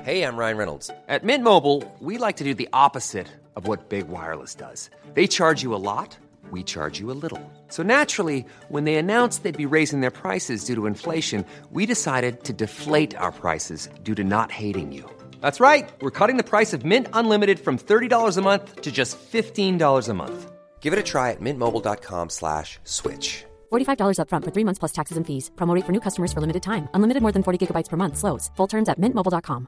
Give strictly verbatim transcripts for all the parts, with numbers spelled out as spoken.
Hey, I'm Ryan Reynolds. At Mint Mobile, we like to do the opposite of what Big Wireless does. They charge you a lot, we charge you a little. So naturally, when they announced they'd be raising their prices due to inflation, we decided to deflate our prices due to not hating you. That's right. We're cutting the price of Mint Unlimited from thirty dollars a month to just fifteen dollars a month. Give it a try at mintmobile.com slash switch. forty-five dollars up front for three months plus taxes and fees. Promo rate for new customers for limited time. Unlimited more than forty gigabytes per month. Slows full terms at mint mobile dot com.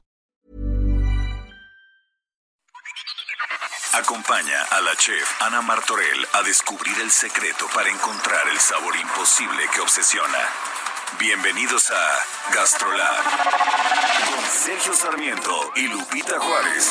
Acompaña a la chef Ana Martorell a descubrir el secreto para encontrar el sabor imposible que obsesiona. Bienvenidos a Gastrolab con Sergio Sarmiento y Lupita Juárez.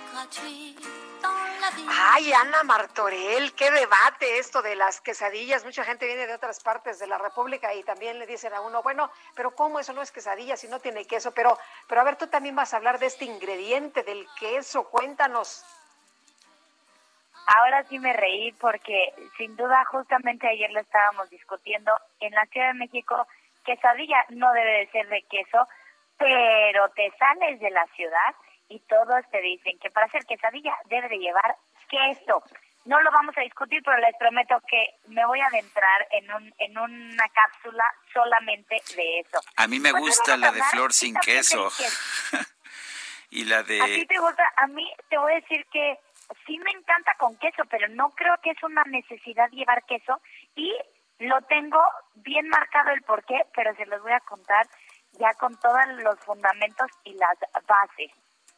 Ay, Ana Martorell, qué debate esto de las quesadillas. Mucha gente viene de otras partes de la República y también le dicen a uno, bueno, pero ¿cómo eso no es quesadilla si no tiene queso? Pero, pero a ver, tú también vas a hablar de este ingrediente del queso. Cuéntanos. Ahora sí me reí porque sin duda justamente ayer lo estábamos discutiendo en la Ciudad de México. Quesadilla no debe de ser de queso, pero te sales de la ciudad y todos te dicen que para hacer quesadilla debe de llevar queso. No lo vamos a discutir, pero les prometo que me voy a adentrar en un en una cápsula solamente de eso. A mí me pues gusta la de flor sin queso. Y la de... ¿A ti te gusta? A mí te voy a decir que sí me encanta con queso, pero no creo que es una necesidad llevar queso y lo tengo bien marcado el porqué, pero se los voy a contar ya con todos los fundamentos y las bases.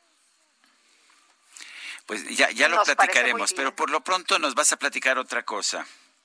Pues ya, ya lo platicaremos, pero por lo pronto nos vas a platicar otra cosa.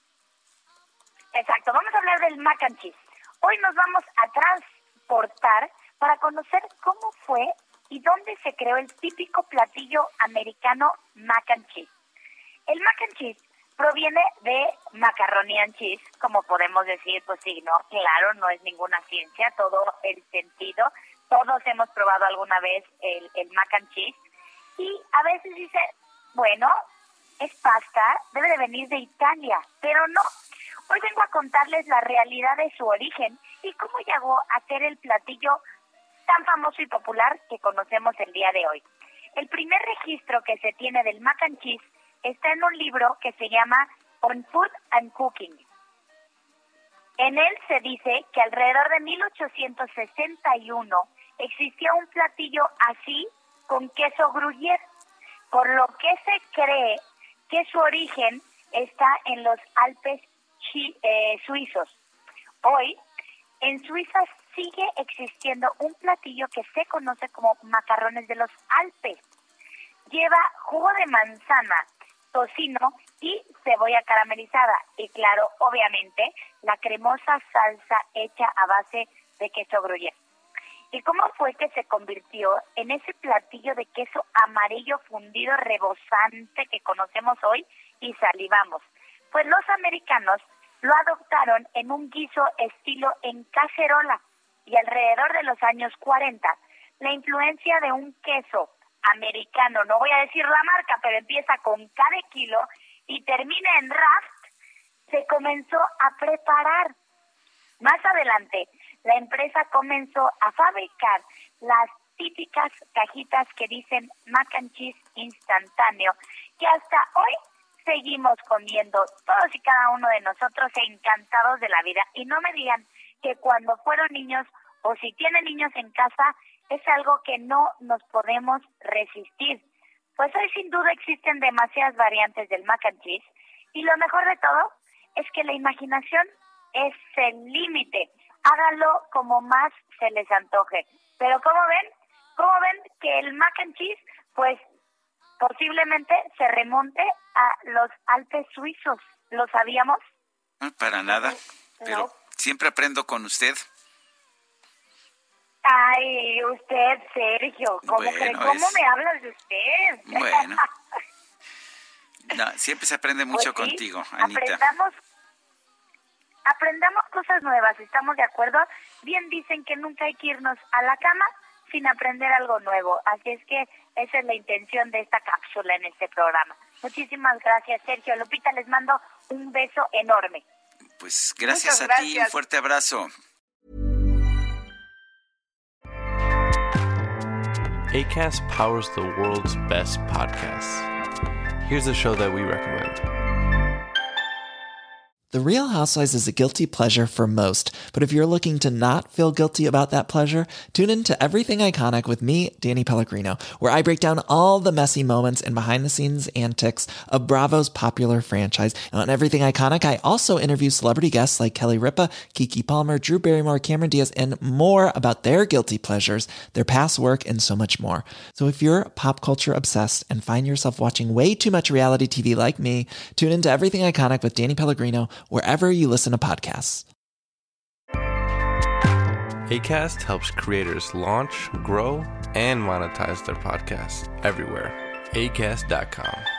Exacto, vamos a hablar del mac and cheese. Hoy nos vamos a transportar para conocer cómo fue y dónde se creó el típico platillo americano mac and cheese. El mac and cheese proviene de macaroni and cheese, como podemos decir, pues sí, no, claro, no es ninguna ciencia, todo el sentido. Todos hemos probado alguna vez el, el mac and cheese y a veces dice, bueno, es pasta, debe de venir de Italia, pero no. Hoy vengo a contarles la realidad de su origen y cómo llegó a ser el platillo tan famoso y popular que conocemos el día de hoy. El primer registro que se tiene del mac and cheese está en un libro que se llama On Food and Cooking. En él se dice que alrededor de mil ochocientos sesenta y uno existía un platillo así con queso gruyère, por lo que se cree que su origen está en los Alpes chi- eh, suizos. Hoy, en Suiza sigue existiendo un platillo que se conoce como macarrones de los Alpes. Lleva jugo de manzana, tocino y cebolla caramelizada. Y claro, obviamente, la cremosa salsa hecha a base de queso gruyère. ¿Y cómo fue que se convirtió en ese platillo de queso amarillo fundido rebosante que conocemos hoy y salivamos? Pues los americanos lo adoptaron en un guiso estilo en cacerola y alrededor de los años cuarenta, la influencia de un queso americano, no voy a decir la marca, pero empieza con K de kilo y termina en Raft, se comenzó a preparar. Más adelante, la empresa comenzó a fabricar las típicas cajitas que dicen mac and cheese instantáneo, que hasta hoy seguimos comiendo todos y cada uno de nosotros encantados de la vida. Y no me digan que cuando fueron niños o si tienen niños en casa es algo que no nos podemos resistir. Pues hoy sin duda existen demasiadas variantes del mac and cheese y lo mejor de todo es que la imaginación es el límite. Háganlo como más se les antoje. Pero ¿cómo ven? ¿Cómo ven que el mac and cheese pues posiblemente se remonte a los Alpes suizos? ¿Lo sabíamos? No, para nada, pero no. Siempre aprendo con usted. Ay, usted, Sergio, ¿cómo, bueno, cree, ¿cómo es... me hablas de usted? Bueno, no, siempre se aprende mucho pues sí, contigo, Anita. Aprendamos, aprendamos cosas nuevas, ¿estamos de acuerdo? Bien dicen que nunca hay que irnos a la cama sin aprender algo nuevo, así es que esa es la intención de esta cápsula en este programa. Muchísimas gracias, Sergio. Lupita, les mando un beso enorme. Pues gracias Muchas a gracias. ti, un fuerte abrazo. Acast powers the world's best podcasts. Here's a show that we recommend. The Real Housewives is a guilty pleasure for most, but if you're looking to not feel guilty about that pleasure, tune in to Everything Iconic with me, Danny Pellegrino, where I break down all the messy moments and behind-the-scenes antics of Bravo's popular franchise. And on Everything Iconic, I also interview celebrity guests like Kelly Ripa, Keke Palmer, Drew Barrymore, Cameron Diaz, and more about their guilty pleasures, their past work, and so much more. So if you're pop culture obsessed and find yourself watching way too much reality T V like me, tune into Everything Iconic with Danny Pellegrino, wherever you listen to podcasts. Acast helps creators launch, grow, and monetize their podcasts everywhere. Acast dot com.